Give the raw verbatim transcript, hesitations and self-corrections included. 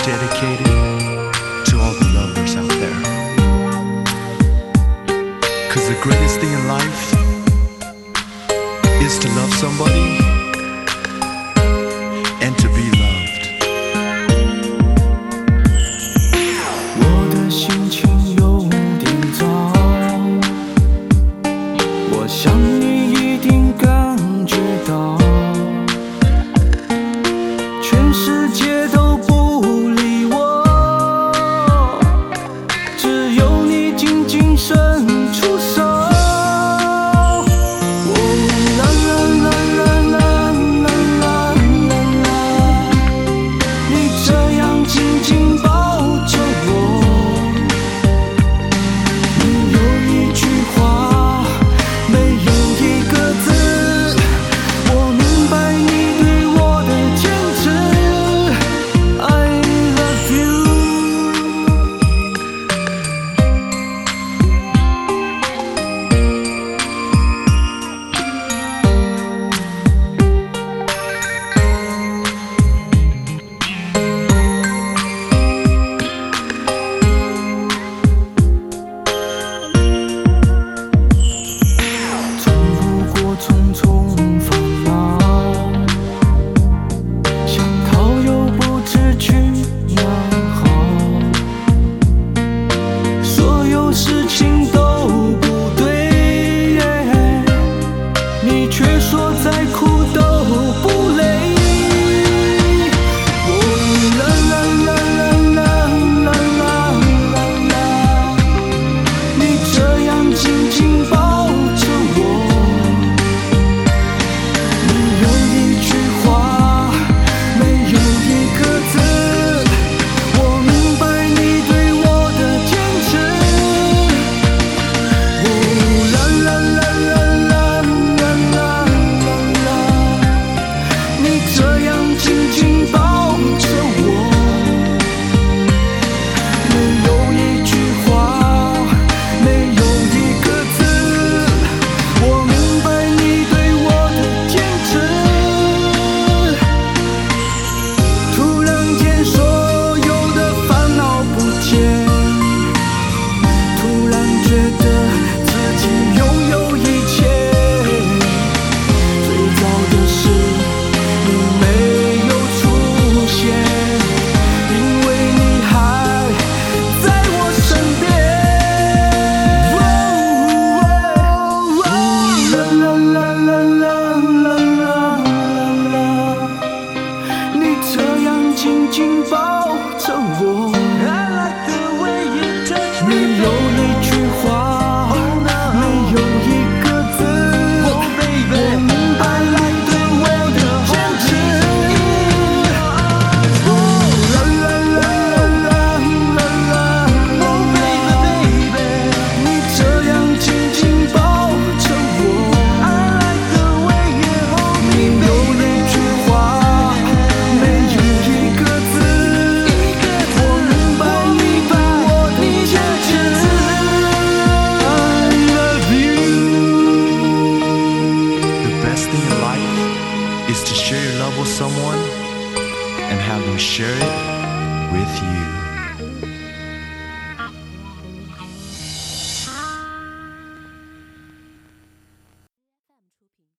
dedicated to all the lovers out there. Cause the greatest thing in life is to love somebody and to be loved. 我的心情有点糟，我想你一定感觉到，全世界都不理我，只有你紧紧伸出手。哦，啦啦啦啦啦啦啦啦，你这样紧紧抱着我，没有一句话，没有一个字，我明白你对我的坚持。I love you。走路过重重烦恼，想逃又不知去哪好，所有事情都不对，你却说再苦都不累。哦，啦啦啦啦啦啦啦啦，你这样紧紧抱着我，没有一句话，没有一个字，我明白你对我的坚持。哦，啦啦啦啦啦啦啦啦，你这样紧紧抱着我，没有一句话，没有一个字，我明白你对我的坚持。突然间，所有的烦恼不见，突然觉得自己拥有一切。最糟的是你没有出现，因为你还在我身边。啦啦啦啦啦啦啦啦，你这样紧紧抱着我，没有一句话，没有一个字，我明白你对我的坚持。哦，啦啦啦啦啦啦啦，你这样紧紧抱着我，没有一句话，没有一个字，我明白你对我的坚持。I love you。 The best thing in life is to share your love with someone and have them share it with you.